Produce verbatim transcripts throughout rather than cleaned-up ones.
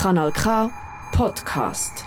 Kanal K Podcast.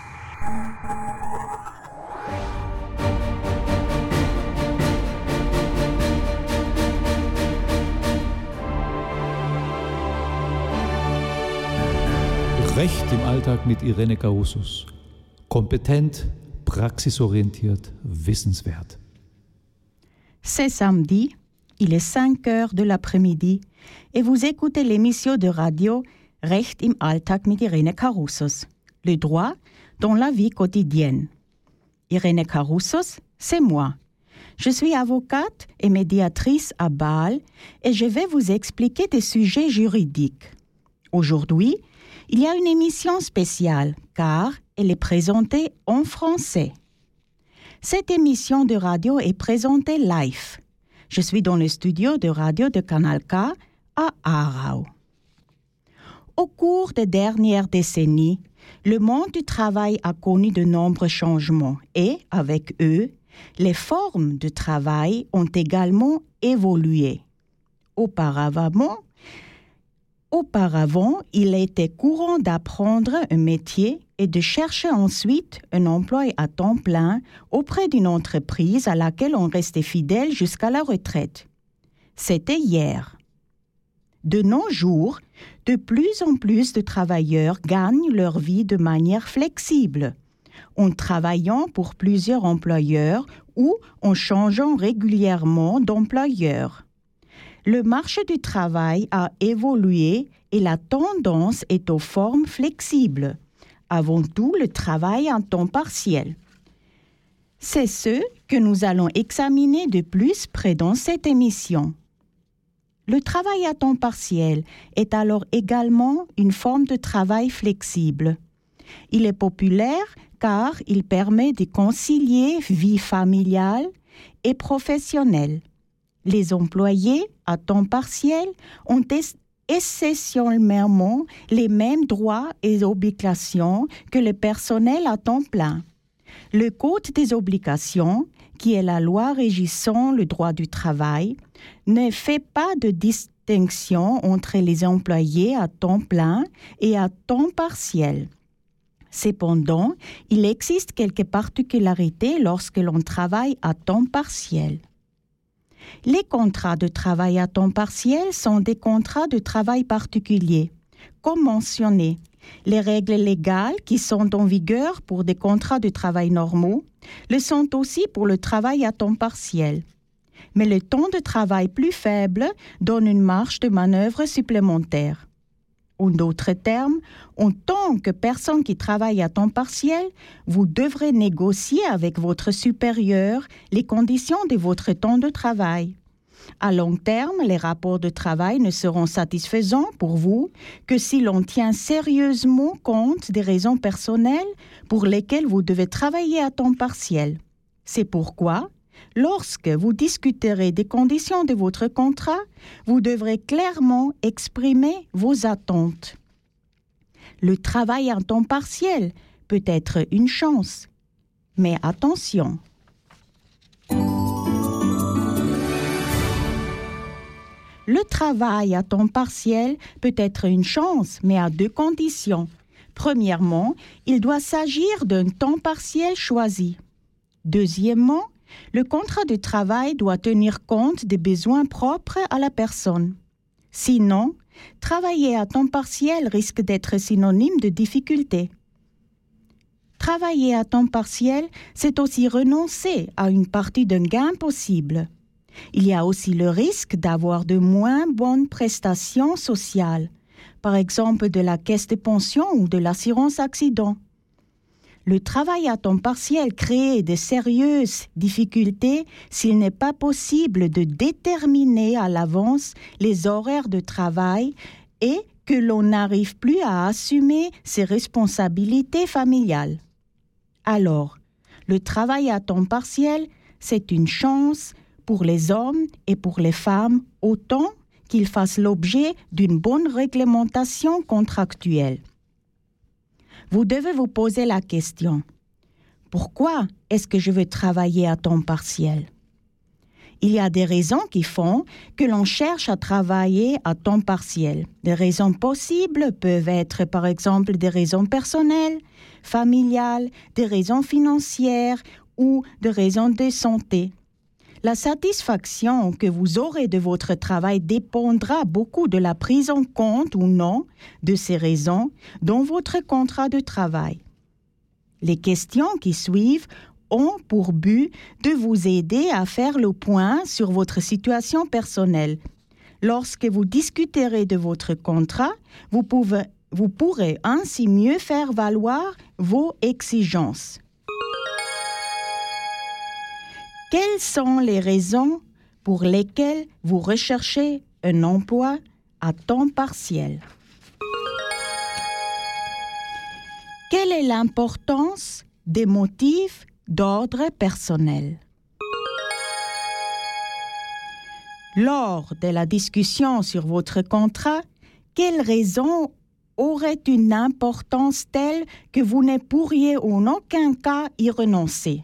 Recht im Alltag mit Irene Carusos. Kompetent, praxisorientiert, wissenswert. C'est samedi, il est cinq heures de l'après-midi et vous écoutez l'émission de radio Recht im Alltag mit Irene Carusos, le droit dans la vie quotidienne. Irene Carusos, c'est moi. Je suis avocate et médiatrice à Bâle et je vais vous expliquer des sujets juridiques. Aujourd'hui, il y a une émission spéciale car elle est présentée en français. Cette émission de radio est présentée live. Je suis dans le studio de radio de Kanal K à Aarau. Au cours des dernières décennies, le monde du travail a connu de nombreux changements et, avec eux, les formes de travail ont également évolué. Auparavant, Auparavant, il était courant d'apprendre un métier et de chercher ensuite un emploi à temps plein auprès d'une entreprise à laquelle on restait fidèle jusqu'à la retraite. C'était hier. De nos jours, de plus en plus de travailleurs gagnent leur vie de manière flexible, en travaillant pour plusieurs employeurs ou en changeant régulièrement d'employeur. Le marché du travail a évolué et la tendance est aux formes flexibles. Avant tout, le travail en temps partiel. C'est ce que nous allons examiner de plus près dans cette émission. Le travail à temps partiel est alors également une forme de travail flexible. Il est populaire car il permet de concilier vie familiale et professionnelle. Les employés à temps partiel ont essentiellement les mêmes droits et obligations que le personnel à temps plein. Le Code des obligations, qui est la loi régissant le droit du travail, ne fait pas de distinction entre les employés à temps plein et à temps partiel. Cependant, il existe quelques particularités lorsque l'on travaille à temps partiel. Les contrats de travail à temps partiel sont des contrats de travail particuliers. Comme mentionné, les règles légales qui sont en vigueur pour des contrats de travail normaux le sont aussi pour le travail à temps partiel. Mais le temps de travail plus faible donne une marge de manœuvre supplémentaire. En d'autres termes, en tant que personne qui travaille à temps partiel, vous devrez négocier avec votre supérieur les conditions de votre temps de travail. À long terme, les rapports de travail ne seront satisfaisants pour vous que si l'on tient sérieusement compte des raisons personnelles pour lesquelles vous devez travailler à temps partiel. C'est pourquoi, lorsque vous discuterez des conditions de votre contrat, vous devrez clairement exprimer vos attentes. Le travail à temps partiel peut être une chance, mais attention. Le travail à temps partiel peut être une chance, mais à deux conditions. Premièrement, il doit s'agir d'un temps partiel choisi. Deuxièmement, le contrat de travail doit tenir compte des besoins propres à la personne. Sinon, travailler à temps partiel risque d'être synonyme de difficulté. Travailler à temps partiel, c'est aussi renoncer à une partie d'un gain possible. Il y a aussi le risque d'avoir de moins bonnes prestations sociales, par exemple de la caisse de pension ou de l'assurance accident. Le travail à temps partiel crée de sérieuses difficultés s'il n'est pas possible de déterminer à l'avance les horaires de travail et que l'on n'arrive plus à assumer ses responsabilités familiales. Alors, le travail à temps partiel, c'est une chance pour les hommes et pour les femmes autant qu'ils fassent l'objet d'une bonne réglementation contractuelle. Vous devez vous poser la question, pourquoi est-ce que je veux travailler à temps partiel ? Il y a des raisons qui font que l'on cherche à travailler à temps partiel. Les raisons possibles peuvent être par exemple des raisons personnelles, familiales, des raisons financières ou des raisons de santé. La satisfaction que vous aurez de votre travail dépendra beaucoup de la prise en compte ou non de ces raisons dans votre contrat de travail. Les questions qui suivent ont pour but de vous aider à faire le point sur votre situation personnelle. Lorsque vous discuterez de votre contrat, vous, pouvez, vous pourrez ainsi mieux faire valoir vos exigences. Quelles sont les raisons pour lesquelles vous recherchez un emploi à temps partiel? Quelle est l'importance des motifs d'ordre personnel? Lors de la discussion sur votre contrat, quelles raisons auraient une importance telle que vous ne pourriez en aucun cas y renoncer?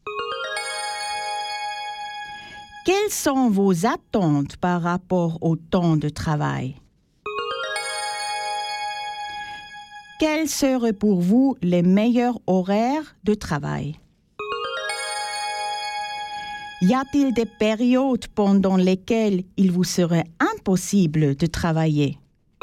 Quelles sont vos attentes par rapport au temps de travail? Quels seraient pour vous les meilleurs horaires de travail? Y a-t-il des périodes pendant lesquelles il vous serait impossible de travailler?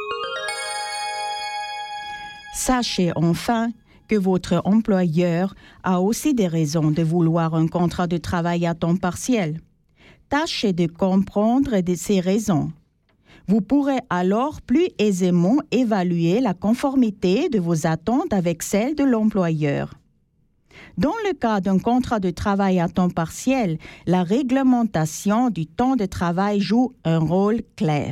Sachez enfin que votre employeur a aussi des raisons de vouloir un contrat de travail à temps partiel. Tâchez de comprendre ces raisons. Vous pourrez alors plus aisément évaluer la conformité de vos attentes avec celles de l'employeur. Dans le cas d'un contrat de travail à temps partiel, la réglementation du temps de travail joue un rôle clé.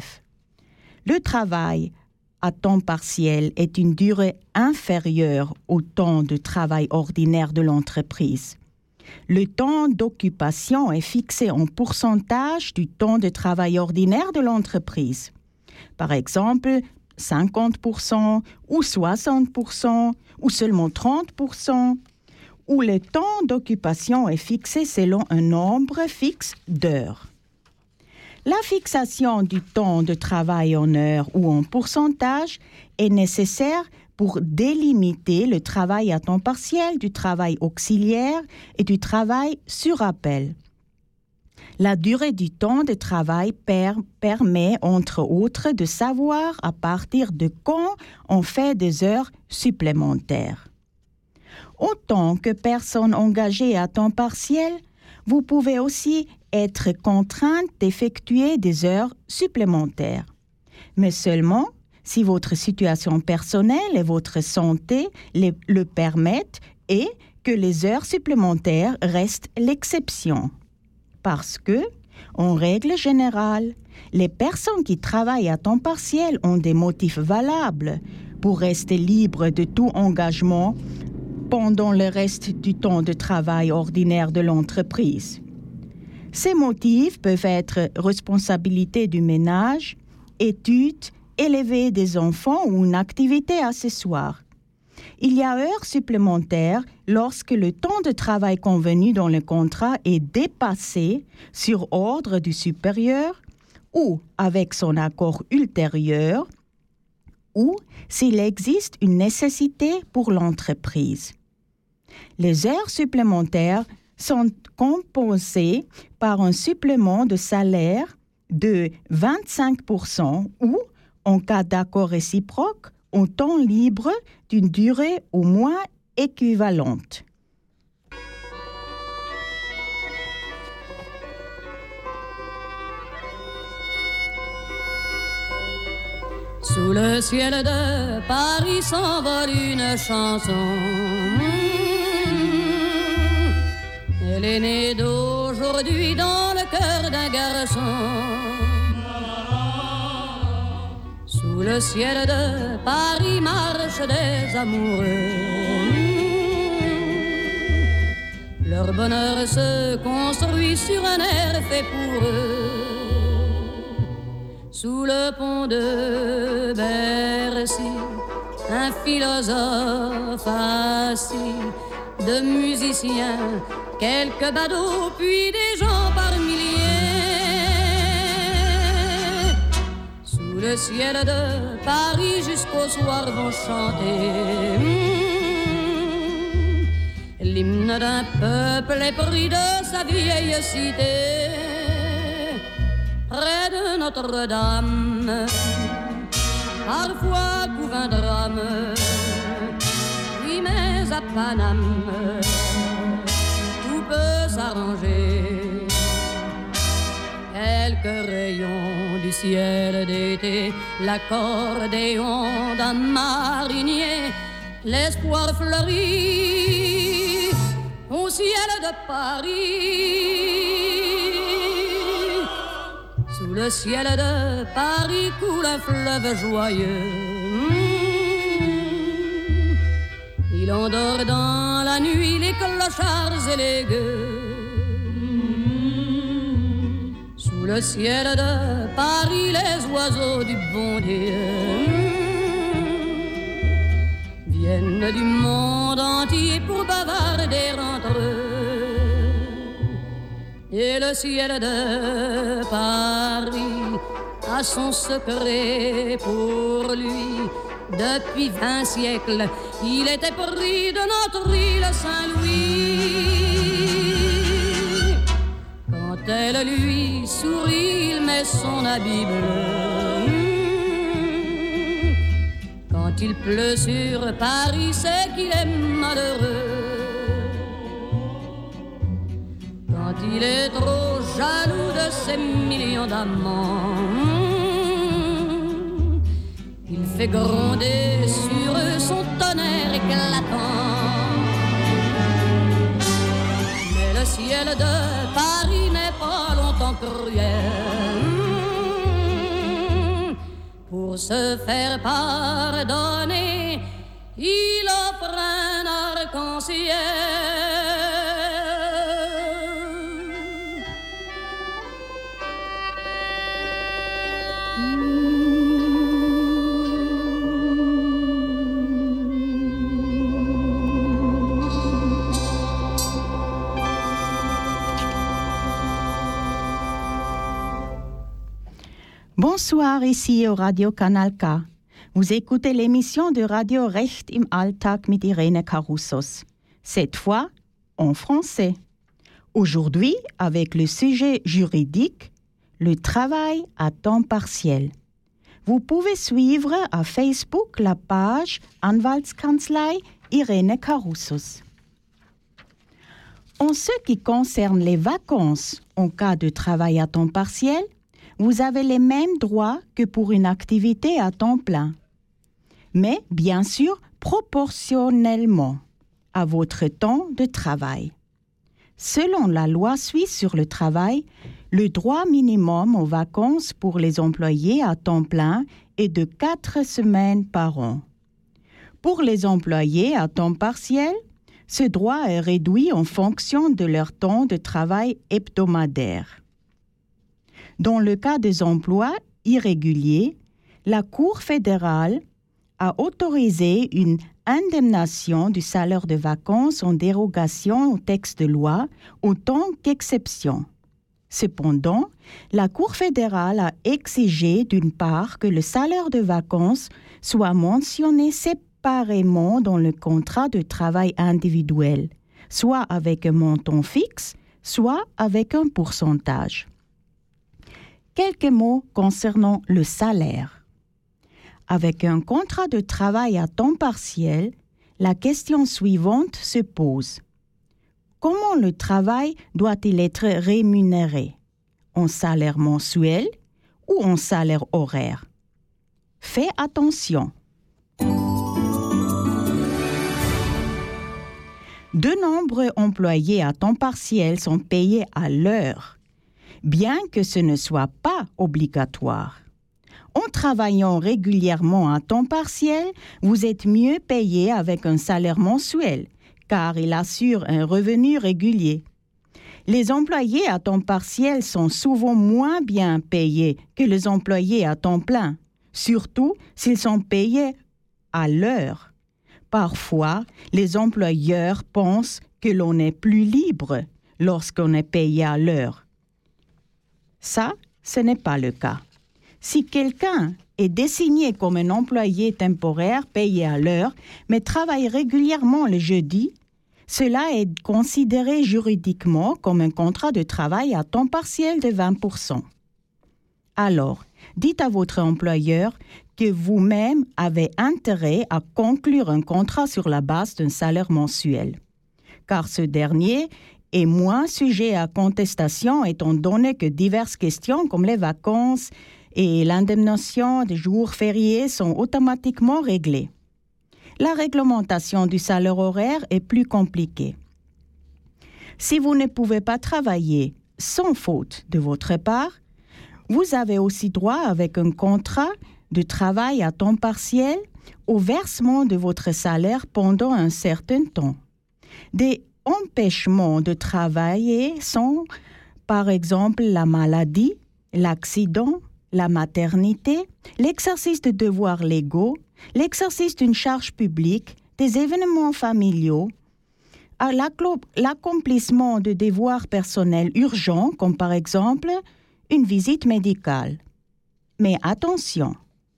Le travail à temps partiel est une durée inférieure au temps de travail ordinaire de l'entreprise. Le temps d'occupation est fixé en pourcentage du temps de travail ordinaire de l'entreprise. Par exemple, cinquante pour cent ou soixante pour cent ou seulement trente pour cent, où le temps d'occupation est fixé selon un nombre fixe d'heures. La fixation du temps de travail en heures ou en pourcentage est nécessaire pour délimiter le travail à temps partiel du travail auxiliaire et du travail sur appel. La durée du temps de travail per- permet, entre autres, de savoir à partir de quand on fait des heures supplémentaires. Autant que personne engagée à temps partiel, vous pouvez aussi être contrainte d'effectuer des heures supplémentaires, mais seulement si votre situation personnelle et votre santé le, le permettent et que les heures supplémentaires restent l'exception. Parce que, en règle générale, les personnes qui travaillent à temps partiel ont des motifs valables pour rester libres de tout engagement pendant le reste du temps de travail ordinaire de l'entreprise. Ces motifs peuvent être responsabilité du ménage, études, élever des enfants ou une activité accessoire. Il y a heures supplémentaires lorsque le temps de travail convenu dans le contrat est dépassé sur ordre du supérieur ou avec son accord ultérieur ou s'il existe une nécessité pour l'entreprise. Les heures supplémentaires sont compensées par un supplément de salaire de vingt-cinq pour cent ou, en cas d'accord réciproque, un temps libre d'une durée au moins équivalente. Sous le ciel de Paris s'envole une chanson. Elle est née d'aujourd'hui dans le cœur d'un garçon. Sous le ciel de Paris marchent des amoureux. Leur bonheur se construit sur un air fait pour eux. Sous le pont de Bercy, un philosophe assis, de musiciens, quelques badauds, puis des gens par milliers. Sous le ciel de Paris jusqu'au soir vont chanter mmh, l'hymne d'un peuple épris de sa vieille cité. Près de Notre-Dame, parfois couvre un drame, oui mais à Paname, tout peut s'arranger. Quelques rayons du ciel d'été, l'accordéon d'un marinier, l'espoir fleurit au ciel de Paris. Sous le ciel de Paris coule un fleuve joyeux. Il endort dans la nuit les clochards et les gueux. Sous le ciel de Paris, les oiseaux du bon Dieu viennent du monde entier pour bavarder entre eux. Et le ciel de Paris a son secret pour lui. Depuis vingt siècles, il était pris de notre île Saint-Louis. Quand elle lui sourit, il met son habit bleu. Quand il pleut sur Paris, c'est qu'il est malheureux. Quand il est trop jaloux de ses millions d'amants, il fait gronder sur eux son tonnerre éclatant. Mais le ciel de Paris n'est pas longtemps cruel. Pour se faire pardonner, il offre un arc-en-ciel. Bonsoir, ici au Radio Kanal K. Vous écoutez l'émission de Radio Recht im Alltag mit Irene Caroussos. Cette fois, en français. Aujourd'hui, avec le sujet juridique, le travail à temps partiel. Vous pouvez suivre à Facebook la page Anwaltskanzlei Irene Caroussos. En ce qui concerne les vacances en cas de travail à temps partiel, vous avez les mêmes droits que pour une activité à temps plein. Mais, bien sûr, proportionnellement à votre temps de travail. Selon la loi suisse sur le travail, le droit minimum aux vacances pour les employés à temps plein est de quatre semaines par an. Pour les employés à temps partiel, ce droit est réduit en fonction de leur temps de travail hebdomadaire. Dans le cas des emplois irréguliers, la Cour fédérale a autorisé une indemnisation du salaire de vacances en dérogation au texte de loi autant qu'exception. Cependant, la Cour fédérale a exigé d'une part que le salaire de vacances soit mentionné séparément dans le contrat de travail individuel, soit avec un montant fixe, soit avec un pourcentage. Quelques mots concernant le salaire. Avec un contrat de travail à temps partiel, la question suivante se pose. Comment le travail doit-il être rémunéré? En salaire mensuel ou en salaire horaire? Faites attention. De nombreux employés à temps partiel sont payés à l'heure, bien que ce ne soit pas obligatoire. En travaillant régulièrement à temps partiel, vous êtes mieux payé avec un salaire mensuel, car il assure un revenu régulier. Les employés à temps partiel sont souvent moins bien payés que les employés à temps plein, surtout s'ils sont payés à l'heure. Parfois, les employeurs pensent que l'on est plus libre lorsqu'on est payé à l'heure. Ça, ce n'est pas le cas. Si quelqu'un est désigné comme un employé temporaire payé à l'heure, mais travaille régulièrement le jeudi, cela est considéré juridiquement comme un contrat de travail à temps partiel de vingt pour cent. Alors, dites à votre employeur que vous-même avez intérêt à conclure un contrat sur la base d'un salaire mensuel, car ce dernier est moins sujet à contestation étant donné que diverses questions comme les vacances et l'indemnisation des jours fériés sont automatiquement réglées. La réglementation du salaire horaire est plus compliquée. Si vous ne pouvez pas travailler sans faute de votre part, vous avez aussi droit avec un contrat de travail à temps partiel au versement de votre salaire pendant un certain temps. Des empêchements de travailler sont, par exemple, la maladie, l'accident, la maternité, l'exercice de devoirs légaux, l'exercice d'une charge publique, des événements familiaux, l'accomplissement de devoirs personnels urgents, comme par exemple une visite médicale. Mais attention!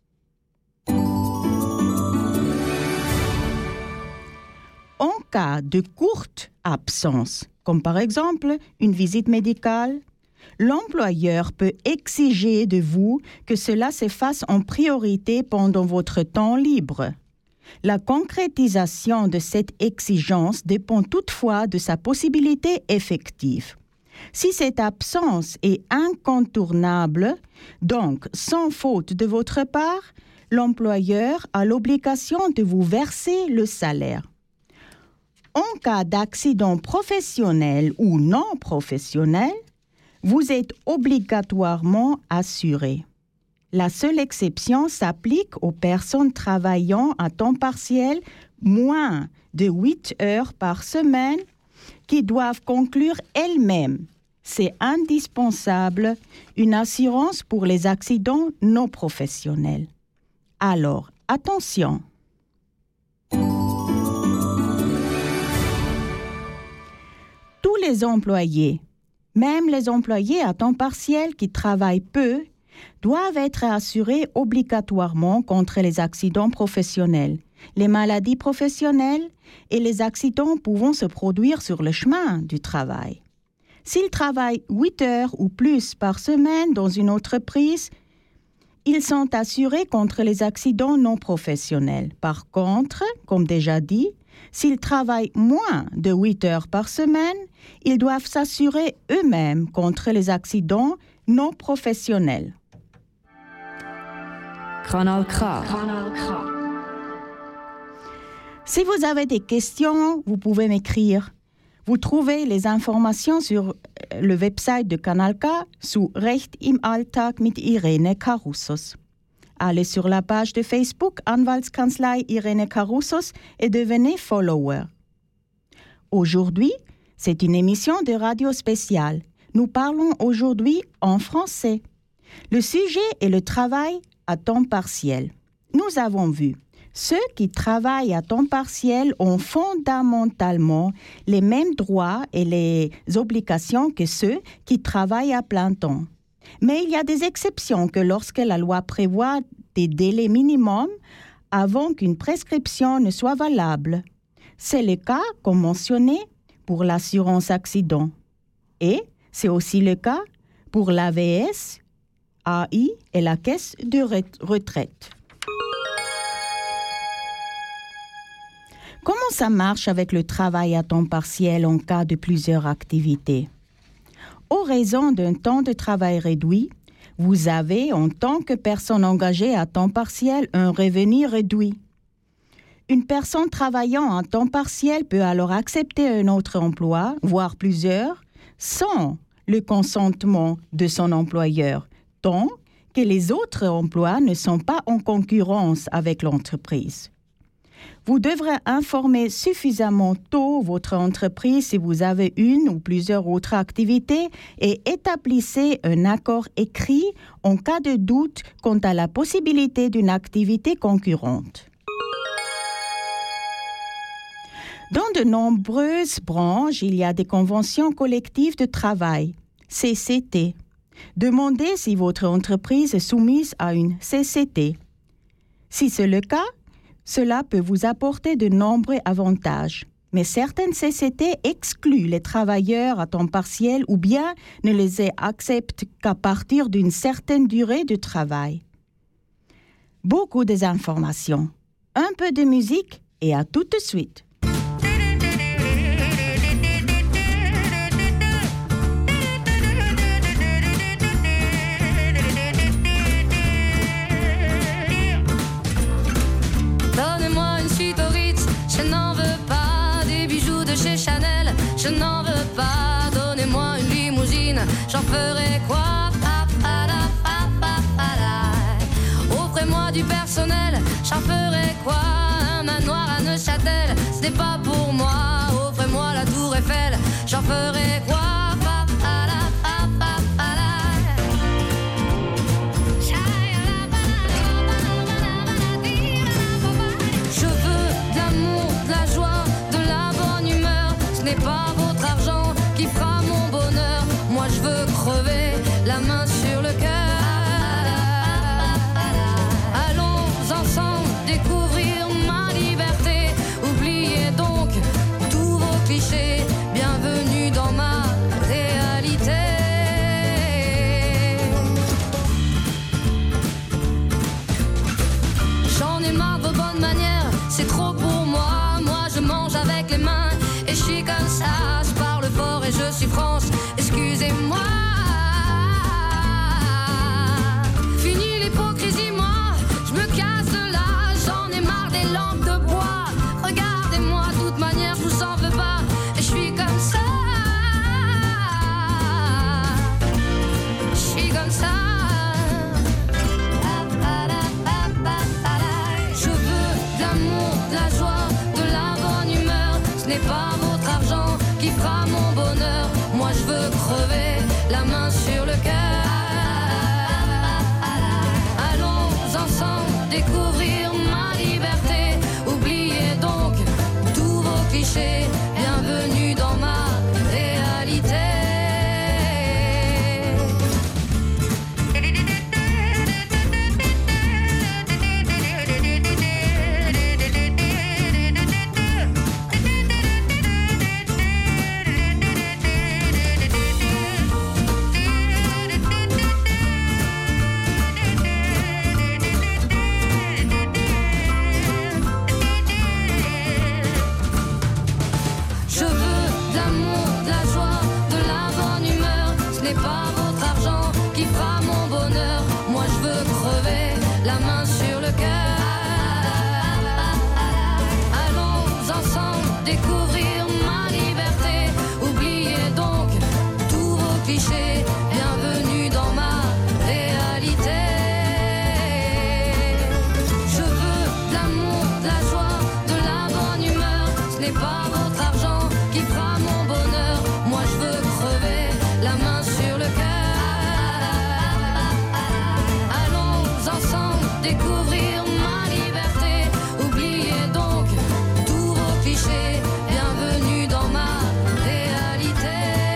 En cas de courte absence, comme par exemple une visite médicale, l'employeur peut exiger de vous que cela se fasse en priorité pendant votre temps libre. La concrétisation de cette exigence dépend toutefois de sa possibilité effective. Si cette absence est incontournable, donc sans faute de votre part, l'employeur a l'obligation de vous verser le salaire. En cas d'accident professionnel ou non professionnel, vous êtes obligatoirement assuré. La seule exception s'applique aux personnes travaillant à temps partiel moins de huit heures par semaine qui doivent conclure elles-mêmes. C'est indispensable, une assurance pour les accidents non professionnels. Alors, attention! Tous les employés, même les employés à temps partiel qui travaillent peu, doivent être assurés obligatoirement contre les accidents professionnels, les maladies professionnelles et les accidents pouvant se produire sur le chemin du travail. S'ils travaillent huit heures ou plus par semaine dans une entreprise, ils sont assurés contre les accidents non professionnels. Par contre, comme déjà dit, s'ils travaillent moins de huit heures par semaine, ils doivent s'assurer eux-mêmes contre les accidents non professionnels. Kanal K. Si vous avez des questions, vous pouvez m'écrire. Vous trouvez les informations sur le website de Kanal K sous Recht im Alltag mit Irene Karoussos. Allez sur la page de Facebook Anwaltskanzlei Irene Karoussos et devenez follower. Aujourd'hui, c'est une émission de radio spéciale. Nous parlons aujourd'hui en français. Le sujet est le travail à temps partiel. Nous avons vu, ceux qui travaillent à temps partiel ont fondamentalement les mêmes droits et les obligations que ceux qui travaillent à plein temps. Mais il y a des exceptions que lorsque la loi prévoit des délais minimums avant qu'une prescription ne soit valable. C'est le cas, comme mentionné, pour l'assurance accident. Et c'est aussi le cas pour l'A V S, A I et la caisse de retraite. Comment ça marche avec le travail à temps partiel en cas de plusieurs activités? Aux raisons d'un temps de travail réduit, vous avez, en tant que personne engagée à temps partiel, un revenu réduit. Une personne travaillant à temps partiel peut alors accepter un autre emploi, voire plusieurs, sans le consentement de son employeur, tant que les autres emplois ne sont pas en concurrence avec l'entreprise. Vous devrez informer suffisamment tôt votre entreprise si vous avez une ou plusieurs autres activités et établissez un accord écrit en cas de doute quant à la possibilité d'une activité concurrente. Dans de nombreuses branches, il y a des conventions collectives de travail, C C T. Demandez si votre entreprise est soumise à une C C T. Si c'est le cas, cela peut vous apporter de nombreux avantages. Mais certaines C C T excluent les travailleurs à temps partiel ou bien ne les acceptent qu'à partir d'une certaine durée de travail. Beaucoup d'informations, un peu de musique et à tout de suite. Donnez-moi une suite au Ritz, je n'en veux pas. Des bijoux de chez Chanel, je n'en veux pas. Donnez-moi une limousine, j'en ferai quoi? Pa, pa, la, pa, pa, pa, la. Offrez-moi du personnel, j'en ferai quoi? Un manoir à Neuchâtel, ce n'est pas pour moi. Offrez-moi la tour Eiffel, j'en ferai quoi? Pa, pa, la, pa, pa, pa, la. Je veux de l'amour, de la joie, de la bonne humeur. Ce n'est pas votre argent qui fera mon bonheur. Moi je veux crever, la main sur le cœur. Allons ensemble découvrir ma liberté. Oubliez donc tous vos clichés. Bienvenue dans ma réalité. J'en ai marre de vos bonnes manières, c'est trop pour moi. Moi je mange avec les mains et je suis comme ça. Je parle fort et je suis France, excusez-moi. Fini l'hypocrisie, moi, je me casse de là. J'en ai marre des lampes de bois. Regardez-moi, de toute manière, je vous en veux pas. Et je suis comme ça. Je suis comme ça. Je veux de l'amour, de la joie, de la bonne humeur. Ce n'est pas votre argent qui fera mon bonheur. Moi je veux crever, la main sur le cœur. Allons ensemble découvrir ma liberté. Oubliez donc tous vos clichés. Bienvenue dans ma réalité. Je veux de l'amour, de la joie, de la bonne humeur. Ce n'est pas votre argent qui fera mon bonheur. Moi je veux crever, la main sur le cœur. Allons ensemble découvrir ma liberté. Oubliez donc tous vos clichés. Bienvenue dans ma réalité. Je veux de l'amour, de la joie, de la bonne humeur. Ce n'est pas votre argent qui fera mon bonheur. Moi je veux crever, la main sur le cœur. Allons ensemble découvrir ma liberté. Oubliez donc tous vos clichés. Bienvenue dans ma réalité.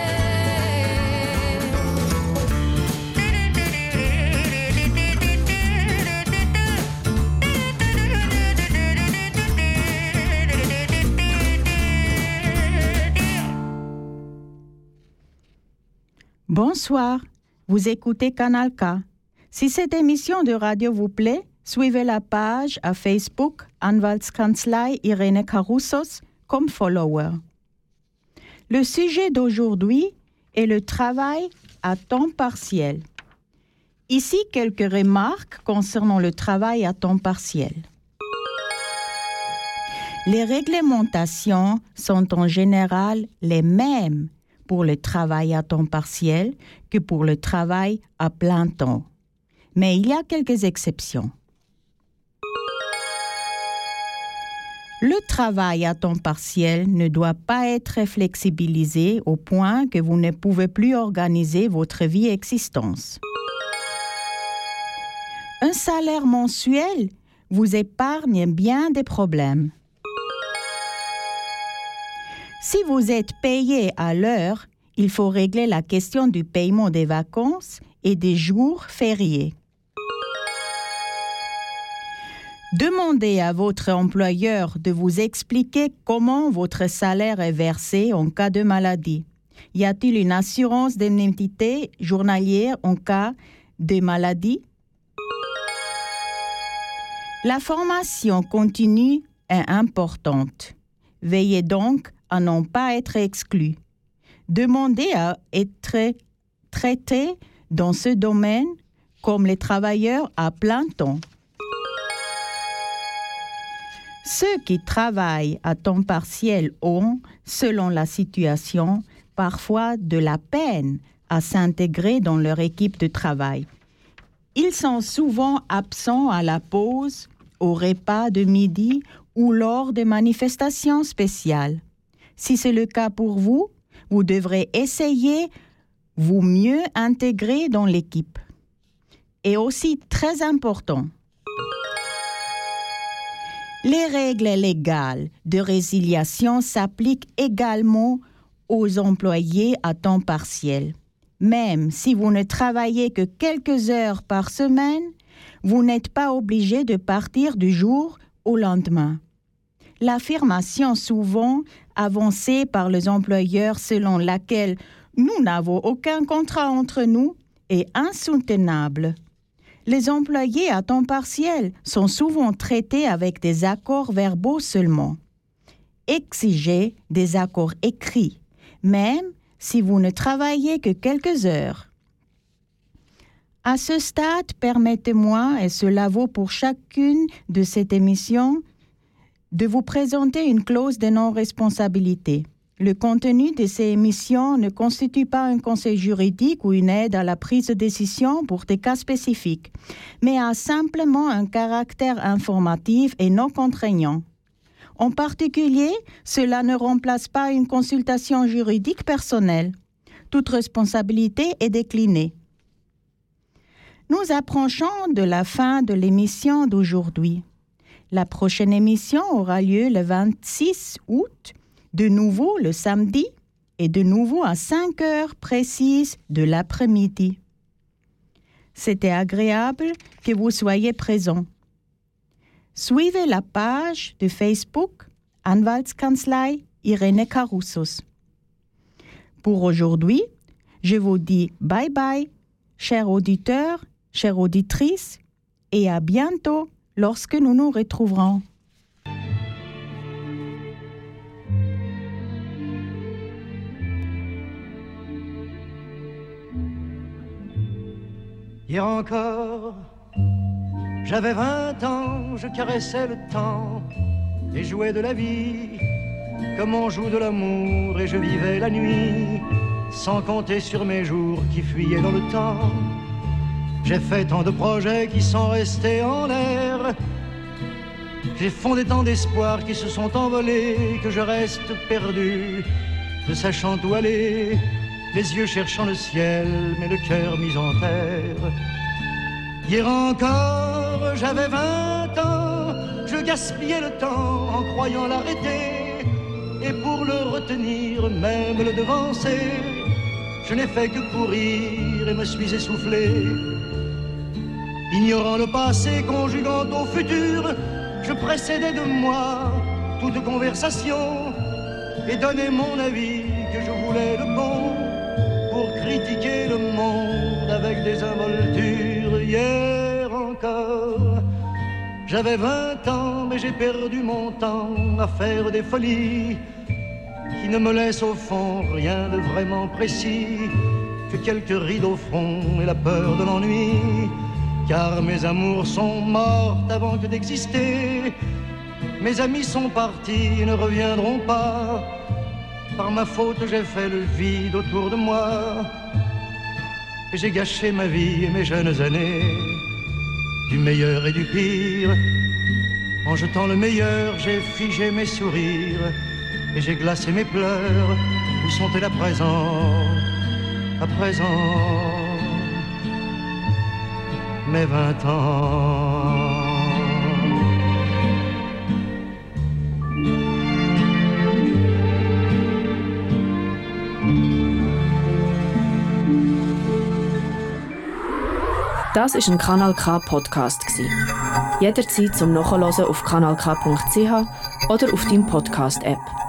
Bonsoir, vous écoutez Canal K. Si cette émission de radio vous plaît, suivez la page à Facebook Anwaltskanzlei Irene Caroussos comme follower. Le sujet d'aujourd'hui est le travail à temps partiel. Ici, quelques remarques concernant le travail à temps partiel. Les réglementations sont en général les mêmes pour le travail à temps partiel que pour le travail à plein temps. Mais il y a quelques exceptions. Le travail à temps partiel ne doit pas être flexibilisé au point que vous ne pouvez plus organiser votre vie existence. Un salaire mensuel vous épargne bien des problèmes. Si vous êtes payé à l'heure, il faut régler la question du paiement des vacances et des jours fériés. Demandez à votre employeur de vous expliquer comment votre salaire est versé en cas de maladie. Y a-t-il une assurance d'indemnité journalière en cas de maladie? La formation continue est importante. Veillez donc à ne pas être exclu. Demandez à être traité dans ce domaine comme les travailleurs à plein temps. Ceux qui travaillent à temps partiel ont, selon la situation, parfois de la peine à s'intégrer dans leur équipe de travail. Ils sont souvent absents à la pause, au repas de midi ou lors de manifestations spéciales. Si c'est le cas pour vous, vous devrez essayer vous mieux intégrer dans l'équipe. Et aussi très important, les règles légales de résiliation s'appliquent également aux employés à temps partiel. Même si vous ne travaillez que quelques heures par semaine, vous n'êtes pas obligé de partir du jour au lendemain. L'affirmation souvent avancée par les employeurs selon laquelle nous n'avons aucun contrat entre nous est insoutenable. Les employés à temps partiel sont souvent traités avec des accords verbaux seulement. Exigez des accords écrits, même si vous ne travaillez que quelques heures. À ce stade, permettez-moi, et cela vaut pour chacune de cette émission, de vous présenter une clause de non-responsabilité. Le contenu de ces émissions ne constitue pas un conseil juridique ou une aide à la prise de décision pour des cas spécifiques, mais a simplement un caractère informatif et non contraignant. En particulier, cela ne remplace pas une consultation juridique personnelle. Toute responsabilité est déclinée. Nous approchons de la fin de l'émission d'aujourd'hui. La prochaine émission aura lieu le vingt-six août, de nouveau le samedi et de nouveau à cinq heures précises de l'après-midi. C'était agréable que vous soyez présents. Suivez la page de Facebook Anwaltskanzlei Irene Caroussos. Pour aujourd'hui, je vous dis bye bye, chers auditeurs, chères auditrices, et à bientôt lorsque nous nous retrouverons. Hier encore, j'avais vingt ans, je caressais le temps et jouais de la vie comme on joue de l'amour, et je vivais la nuit sans compter sur mes jours qui fuyaient dans le temps. J'ai fait tant de projets qui sont restés en l'air, j'ai fondé tant d'espoirs qui se sont envolés, que je reste perdu, ne sachant où aller, les yeux cherchant le ciel, mais le cœur mis en terre. Hier encore, j'avais vingt ans, je gaspillais le temps en croyant l'arrêter, et pour le retenir, même le devancer, je n'ai fait que courir et me suis essoufflé. Ignorant le passé, conjuguant au futur, je précédais de moi toute conversation et donnais mon avis que je voulais le bon pour critiquer le monde avec des involtures. Hier encore, j'avais vingt ans, mais j'ai perdu mon temps à faire des folies qui ne me laissent au fond rien de vraiment précis que quelques rides au front et la peur de l'ennui. Car mes amours sont mortes avant que d'exister, mes amis sont partis et ne reviendront pas. Par ma faute j'ai fait le vide autour de moi, et j'ai gâché ma vie et mes jeunes années, du meilleur et du pire. En jetant le meilleur, j'ai figé mes sourires et j'ai glacé mes pleurs. Où sont-elles à présent, à présent, mes vingt ans? Das war ein Kanal K Podcast. Jederzeit zum Nachhören auf kanal k punkt c h oder auf deinem Podcast-App.